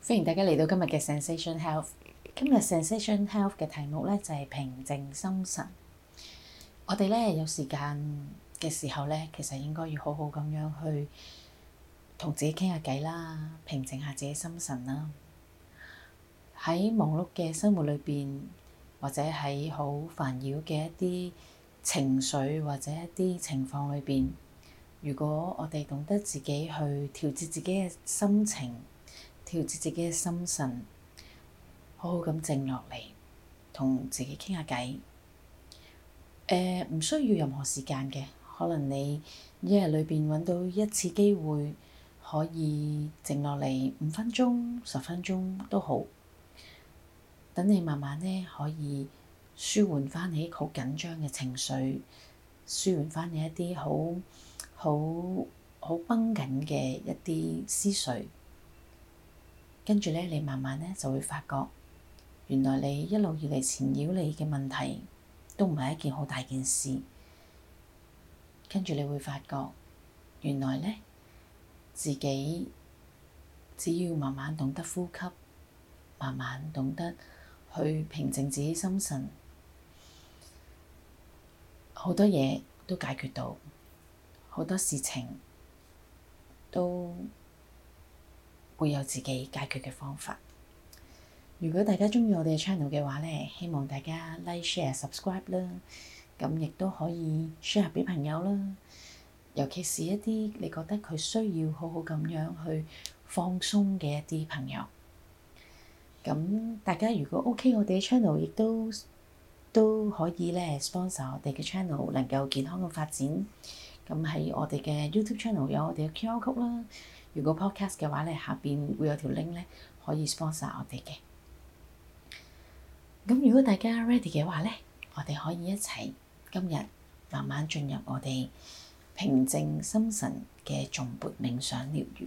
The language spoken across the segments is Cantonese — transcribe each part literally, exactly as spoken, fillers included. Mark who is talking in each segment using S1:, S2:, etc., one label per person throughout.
S1: 歡迎大家嚟到今日嘅 Zensation Health。今日 Zensation Health 嘅題目咧就係平靜心神。我哋咧有時間嘅時候咧，其實應該要好好咁樣去同自己傾下偈啦，平靜下自己心神啦。喺忙碌嘅生活裏邊，或者喺好煩擾嘅一啲情緒或者一啲情況裏邊，如果我哋懂得自己去調節自己嘅心情，調節自己嘅心神，好好咁靜落嚟，同自己傾下偈。誒，唔需要任何時間嘅，可能你一日裏邊揾到一次機會，可以靜落嚟五分鐘、十分鐘都好。等你慢慢咧可以舒緩翻你好緊張嘅情緒，舒緩翻你一啲好好好繃緊嘅一啲思緒。跟住咧，你慢慢咧就會發覺，原來你一路以嚟纏繞你嘅問題都唔係一件好大件事。跟住你會發覺，原來咧自己只要慢慢懂得呼吸，慢慢懂得去平靜自己心神，好多嘢都解決到，好多事情都會有自己解決嘅方法。如果大家鍾意我哋嘅 channel 嘅話咧，希望大家 like、share、subscribe 啦。咁亦都可以 share 俾朋友啦。尤其是一啲你覺得佢需要好好咁樣去放鬆嘅一啲朋友。咁大家如果 OK，我哋嘅 channel 亦都都可以咧 sponsor 我哋嘅 channel， 能夠健康嘅發展。咁喺我哋嘅 YouTube channel 有我哋嘅 Q R code 啦。如果 podcast 嘅話咧，下邊會有條 link 咧，可以 sponsor 我哋嘅。咁如果大家 ready 嘅話咧，我哋可以一齊今日慢慢進入我哋平靜心神嘅頌缽冥想療癒。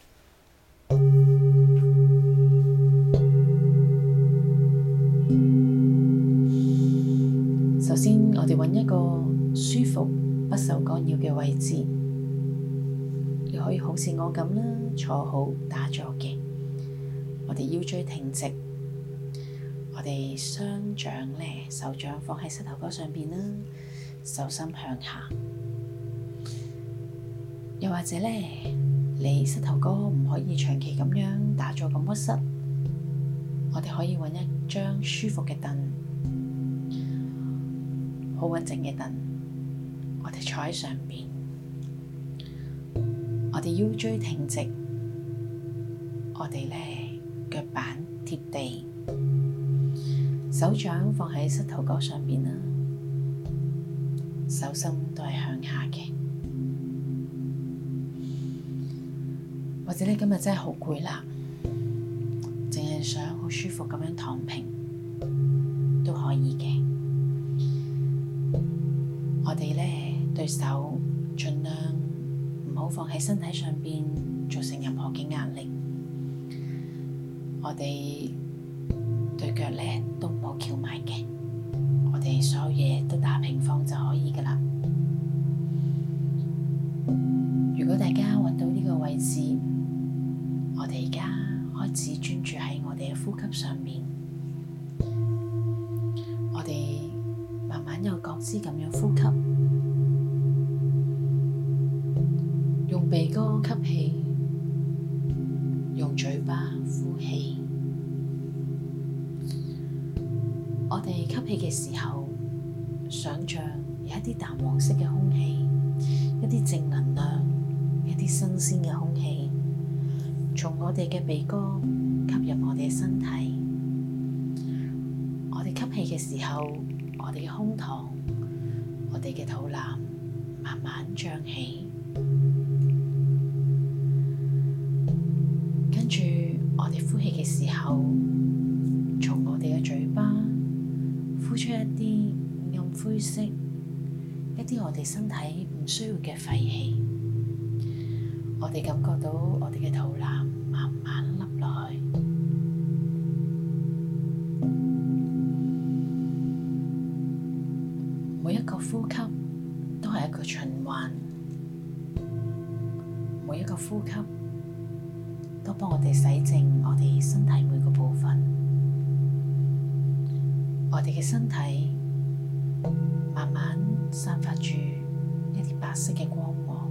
S1: 首先，我哋揾一個舒服、不受干擾嘅位置。亦可以好似我咁啦，坐好打坐嘅。我哋腰椎挺直，我哋雙掌咧，手掌放喺膝頭哥上邊啦，手心向下。又或者咧，你膝頭哥唔可以長期咁樣打坐咁屈膝，我哋可以揾一張舒服嘅凳，好穩陣嘅凳，我哋坐喺上邊。我哋腰椎挺直，我哋咧腳板貼地，手掌放喺膝頭哥上邊啦，手心都係向下嘅。或者你今日真係好攰啦，淨係想好舒服咁樣躺平都可以嘅。我哋咧對手盡量唔好放喺身體上邊，造成任何嘅壓力。我哋對腳咧都唔好翹埋嘅，我哋所有嘢都打平放就可以噶啦。如果大家揾到呢個位置，我哋而家開始專注喺我哋嘅呼吸上面。我哋慢慢有覺知咁樣呼吸。用鼻哥吸氣，用嘴巴呼氣。我哋吸氣嘅時候，想像有一啲淡黃色嘅空氣，一啲正能量，一啲新鮮嘅空氣，從我哋嘅鼻哥吸入我哋嘅身體。我哋吸氣嘅時候，我哋嘅胸膛，我哋嘅肚腩慢慢脹起。跟住，我哋呼氣嘅時候，從我哋嘅嘴巴呼出一啲暗灰色，一啲我哋身體唔需要嘅廢氣。我哋感覺到我哋嘅肚腩慢慢凹落去。每一個呼吸都係一個循環，每一個呼吸都幫我哋洗淨我哋心嘅身體慢慢散發住一啲白色嘅光芒，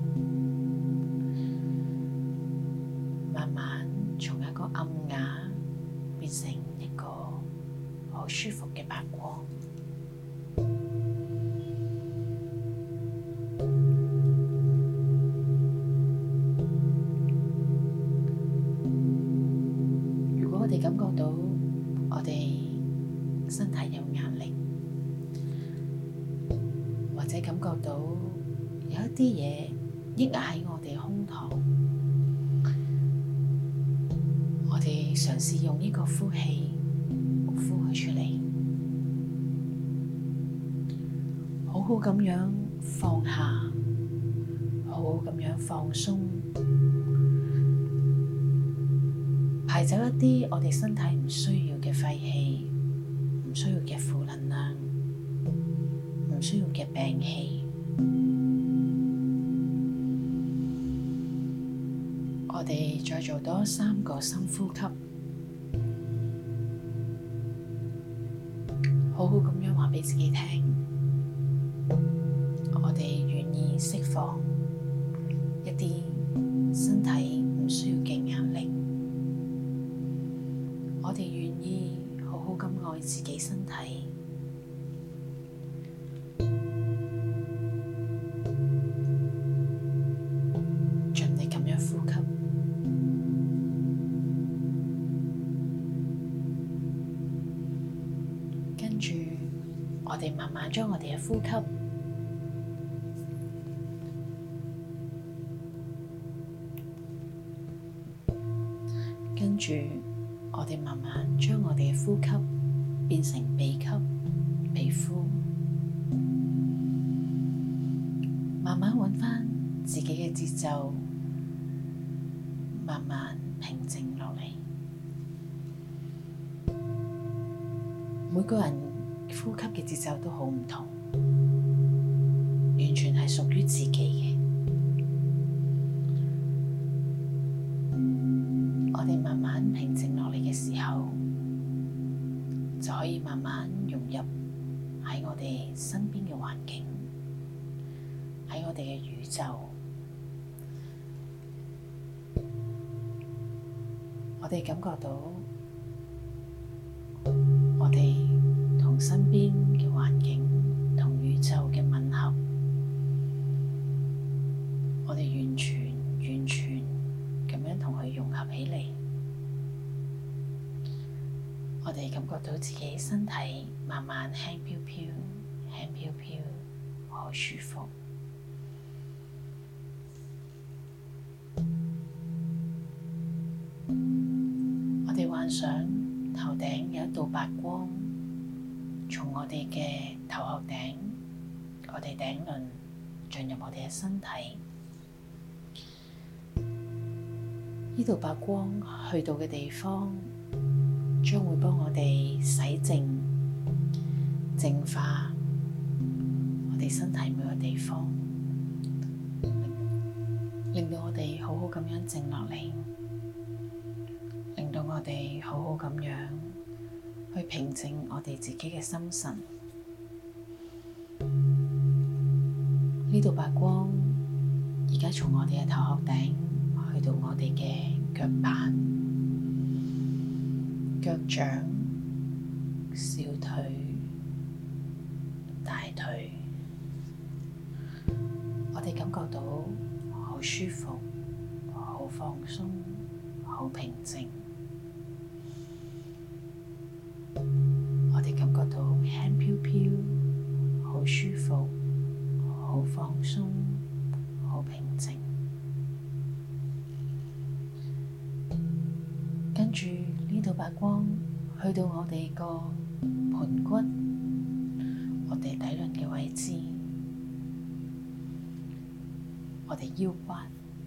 S1: 慢慢從一個暗啞變成一個好舒服嘅白光。如果我哋感覺到我哋身體有壓力，或者感覺到有一啲嘢抑壓喺我哋胸膛，我哋嘗試用呢個呼氣呼佢出嚟，好好咁樣放下，好好咁樣放鬆，排走一啲我哋身體唔需要嘅廢氣，唔需要嘅負能量，唔需要嘅病氣。我哋再做多三個深呼吸，好好咁樣話畀自己聽，我哋願意釋放一啲身體唔需要嘅壓力，我哋願意好好咁愛自己身體。盡力咁樣呼吸，跟住我哋慢慢將我哋嘅呼吸跟住我哋慢慢將我哋嘅呼吸變成鼻吸鼻呼，慢慢揾返自己嘅節奏，慢慢平靜落嚟。每個人呼吸嘅節奏都好唔同，完全係屬於自己嘅。我哋慢慢平靜落嚟嘅時候，就可以慢慢融入喺我哋身邊嘅環境，喺我哋嘅宇宙。我哋感覺到我哋同身邊嘅環境同宇宙嘅吻合，我哋完全完全咁樣同佢融合起嚟。我哋感覺到自己身體慢慢輕飄飄，輕飄飄，好舒服。我哋幻想頭頂有一道白光，從我哋嘅頭殼頂，我哋頂輪進入我哋嘅身體。呢道白光去到嘅地方，將會幫我哋洗淨、淨化我哋身體每個地方，令到我哋好好咁樣靜落嚟，令到我哋好好咁樣去平靜我哋自己嘅心神。呢道白光而家從我哋嘅頭殼頂去到我哋嘅腳板、腳掌、小腿、大腿，我哋感覺到好舒服、好放鬆、好平靜。我哋感覺到輕飄飄，好舒服、好放鬆、好平靜。跟住呢道白光去到我哋個盤骨，我哋底輪嘅位置，我哋腰骨，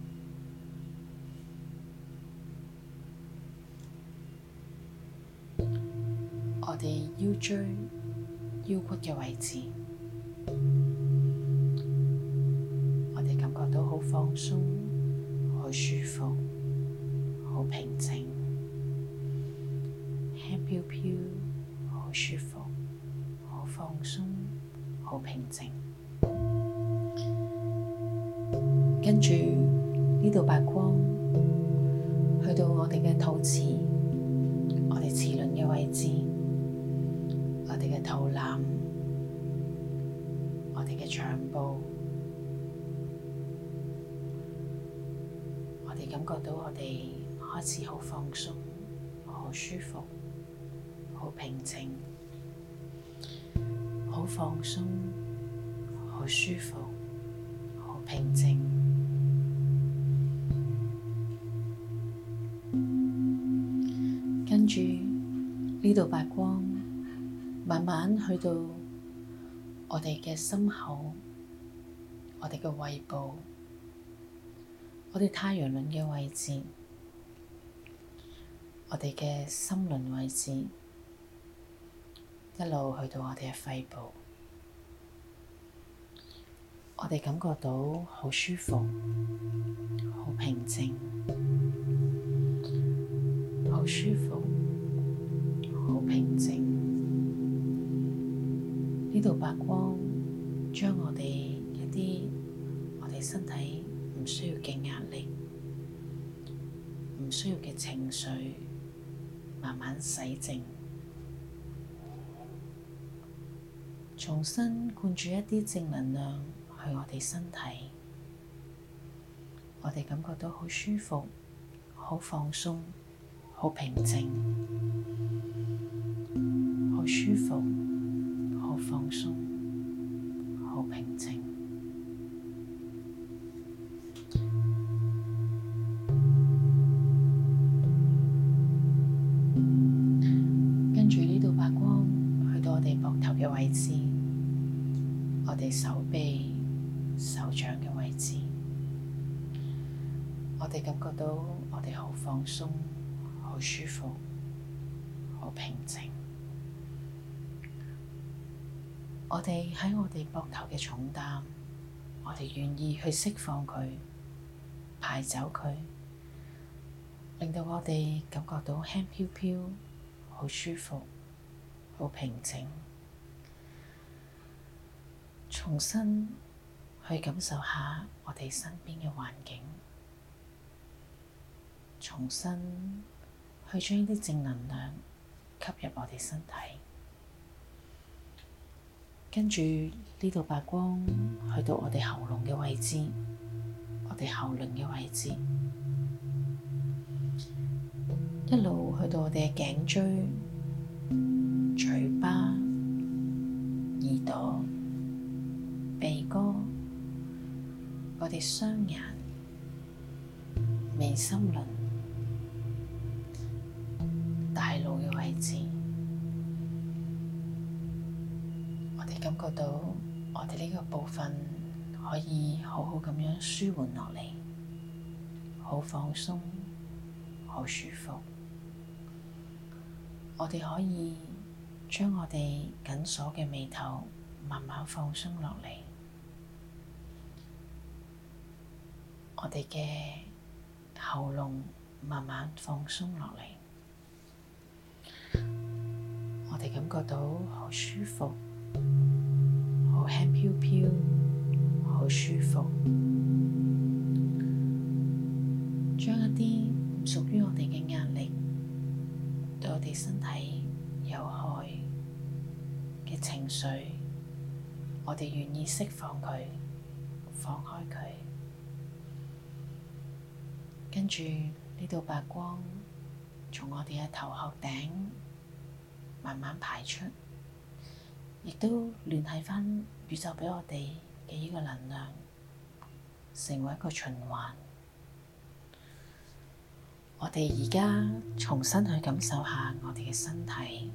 S1: 我哋腰椎、腰骨嘅位置，我哋感覺到好放鬆、好舒服、好平靜。輕飄飄，好舒服， 放鬆，好平靜。跟住呢度白光去到我哋嘅肚臍，我哋臍輪嘅位置，我哋嘅肚腩，我哋嘅腸部，我哋感覺到我哋開始好放鬆，好舒服，好平靜，好放鬆，好舒服，好平靜。跟住呢度白光慢慢去到我哋嘅心口，我哋嘅胃部，我哋太陽輪嘅位置，我哋嘅心輪位置，一路去到我哋嘅肺部，我哋感覺到好舒服，好平靜，好舒服，好平靜。呢度白光將我哋一啲我哋身體唔需要嘅壓力、唔需要嘅情緒慢慢洗淨，重新灌注一啲正能量去我哋身體，我哋感覺到好舒服、好放鬆、好平靜，好舒服、好放鬆、好平靜。跟住呢度白光去到我哋膊頭嘅位置，我哋手臂、手掌嘅位置，我哋感覺到我哋好放鬆、好舒服、好平靜。我哋喺我哋膊頭嘅重擔，我哋願意去釋放佢、排走佢，令到我哋感覺到輕飄飄、好舒服、好平靜。重新去感受下我哋身邊嘅環境，重新去將啲正能量吸入我哋身體。跟住呢度白光去到我哋喉嚨嘅位置，我哋喉輪嘅位置，一路去到我哋嘅頸椎、嘴巴、耳朵、鼻哥、我哋雙眼、眉心輪、大腦嘅位置，我哋感覺到我哋呢個部分可以好好咁樣舒緩落嚟，好放鬆，好舒服。我哋可以將我哋緊鎖嘅眉頭慢慢放鬆落嚟，我哋嘅喉嚨慢慢放鬆落嚟，我哋感覺到好舒服，好輕飄飄，好舒服。將一啲唔屬於我哋嘅壓力，對我哋身體有害嘅情緒，我哋願意釋放佢，放開佢。跟住呢度白光從我哋嘅頭殼頂慢慢排出，亦都聯繫返宇宙畀我哋嘅呢個能量，成為一個循環。我哋而家重新去感受下我哋嘅身體，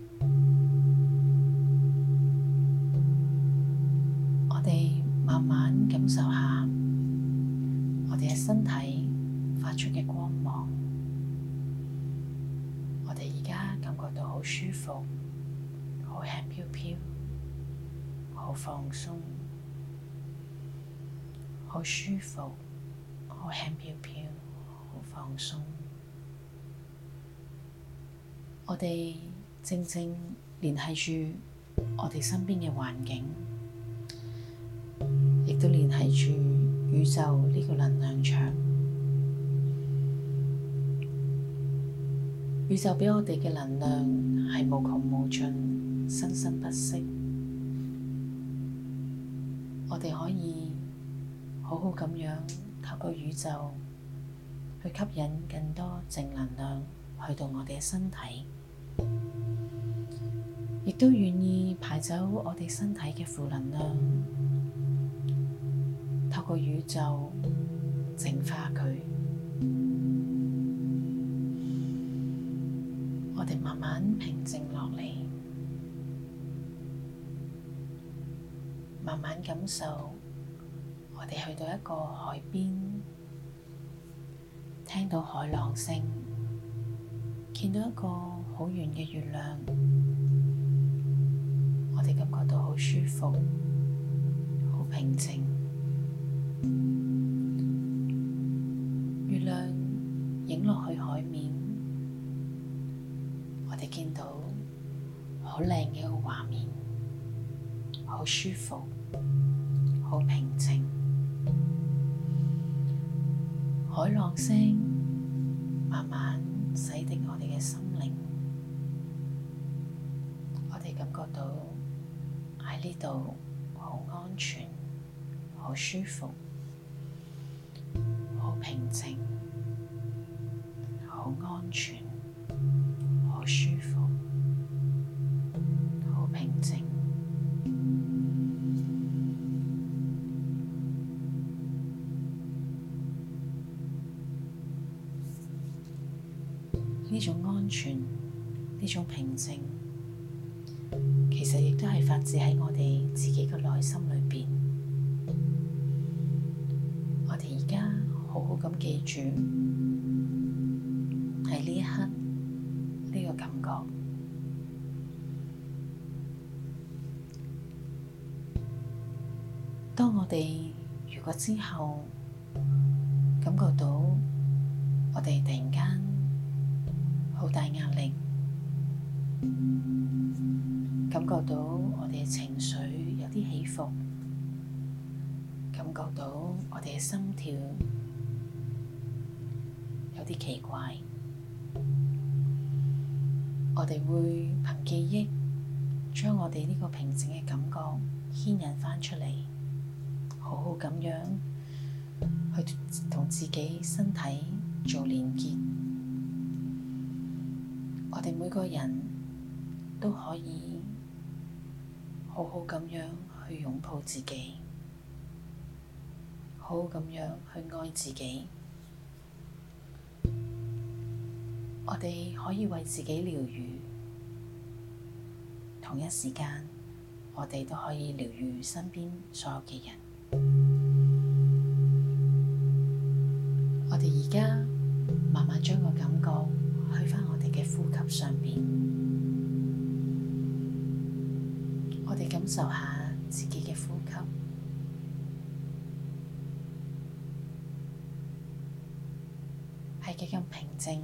S1: 我哋慢慢感受下我哋嘅身體發出嘅光芒。我哋而家感覺到好舒服，好輕飄飄，好放鬆，好舒服，好輕飄飄，好放鬆。我哋正正聯繫住我哋身邊嘅環境，亦都聯繫住宇宙呢個能量場。宇宙畀我哋嘅能量係無窮無盡、生生不息。我哋可以好好咁樣透過宇宙去吸引更多正能量去到我哋嘅身體，亦都願意排走我哋身體嘅負能量，透過宇宙淨化佢。我哋慢慢平靜落嚟，慢慢感受我哋去到一個海邊，聽到海浪聲，見到一個好圓嘅月亮，我哋感覺到好舒服，好平靜。月亮影落去海面，我哋見到好靚嘅一個畫面，好舒服，好平靜。海浪聲慢慢洗滌我哋嘅心靈，我哋感覺到喺呢度好安全，好舒服，好平靜，好安全，好舒服，好平靜。呢種安全，呢種平靜，其實亦都係發自喺我哋自己嘅內心裏邊。我哋而家好好咁記住，喺呢一刻呢個感覺。當我哋如果之後感覺到我哋突然間好大壓力，感覺到我哋嘅情緒有啲起伏，感覺到我哋嘅心跳有啲奇怪，我哋會憑記憶將我哋呢個平靜嘅感覺牽引返出嚟，好好咁樣去同自己身體做連結。我哋每個人都可以好好咁樣去擁抱自己，好好咁樣去愛自己。我哋可以為自己療癒，同一時間我哋都可以療癒身邊所有嘅人。我哋而家慢慢將個感覺去返我哋嘅呼吸上邊，我哋感受下自己嘅呼吸，係幾咁平靜，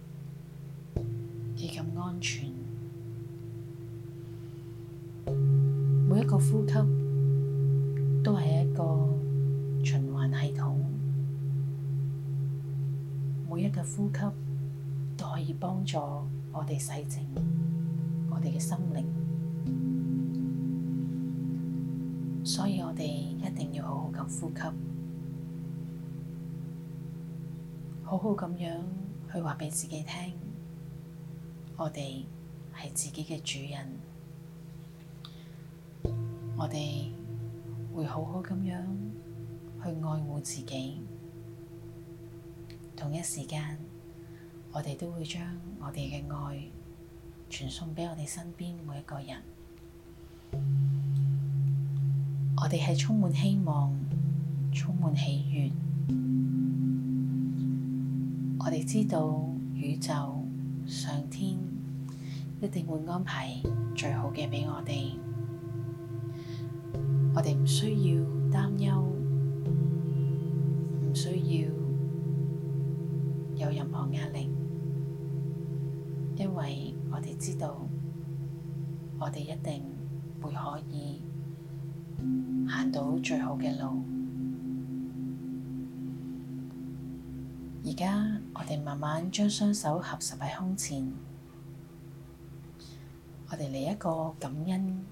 S1: 幾咁安全。每一個呼吸都係一個循環系統，每一個呼吸都可以幫助我哋洗淨我哋嘅心靈，所以我哋一定要好好咁呼吸，好好咁樣去話畀自己聽，我哋係自己嘅主人，我哋會好好咁樣去愛護自己，同一時間我哋都會將我哋嘅愛傳送畀我哋身邊每一個人。我哋係充滿希望，充滿喜悅。我哋知道宇宙、上天一定會安排最好嘅畀我哋。我哋唔需要擔憂，唔需要有任何壓力，因為我哋知道，我哋一定會可以行到最好嘅路。而家我哋慢慢將雙手合十喺胸前，我哋嚟一個感恩。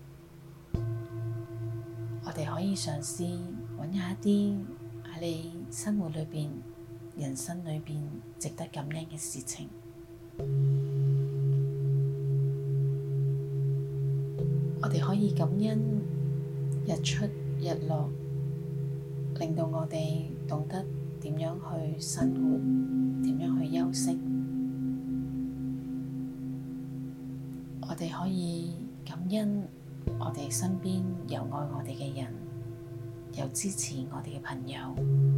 S1: 我哋可以嘗試揾下一啲喺你生活裏邊、人生裏邊值得感恩嘅事情。我哋可以感恩日出日落，令到我哋懂得點樣去生活，點樣去休息。我哋可以感恩我哋身邊有愛我哋嘅人，有支持我哋嘅朋友，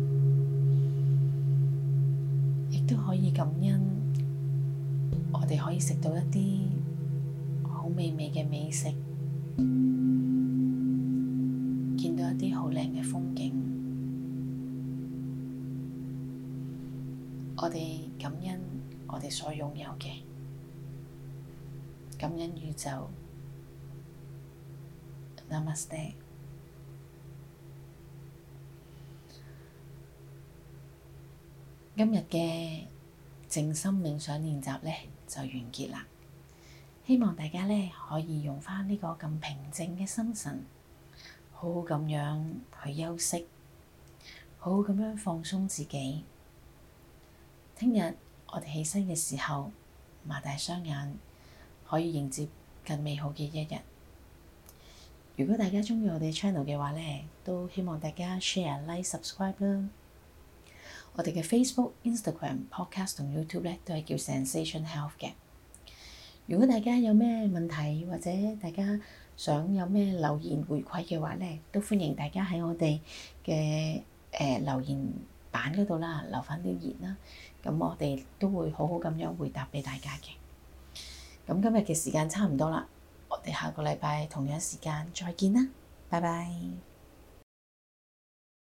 S1: 亦都可以感恩我哋可以食到一啲好美味嘅美食，見到一啲好靚嘅風景。我哋感恩我哋所擁有嘅，感恩宇宙。Namaste。今日嘅靜心冥想練習呢就完結啦。希望大家呢可以用返呢個咁平靜嘅心神，好好咁樣去休息，好好咁樣放鬆自己。聽日我哋起身嘅時候，擘大雙眼，可以迎接更美好嘅一日。如果大家鍾意我哋 channel 嘅話呢，都希望大家 share、like、subscribe 啦。我哋嘅 Facebook、Instagram、Podcast 同 YouTube 呢都係叫 Zensation Health 嘅。如果大家有咩問題或者大家想有咩留言回饋嘅話呢，都歡迎大家喺我哋嘅誒留言版嗰度啦，留返啲言啦。咁我哋都會好好咁樣回答俾大家嘅。咁今日嘅時間差唔多啦。我哋下個禮拜同樣時間再見啦，拜拜。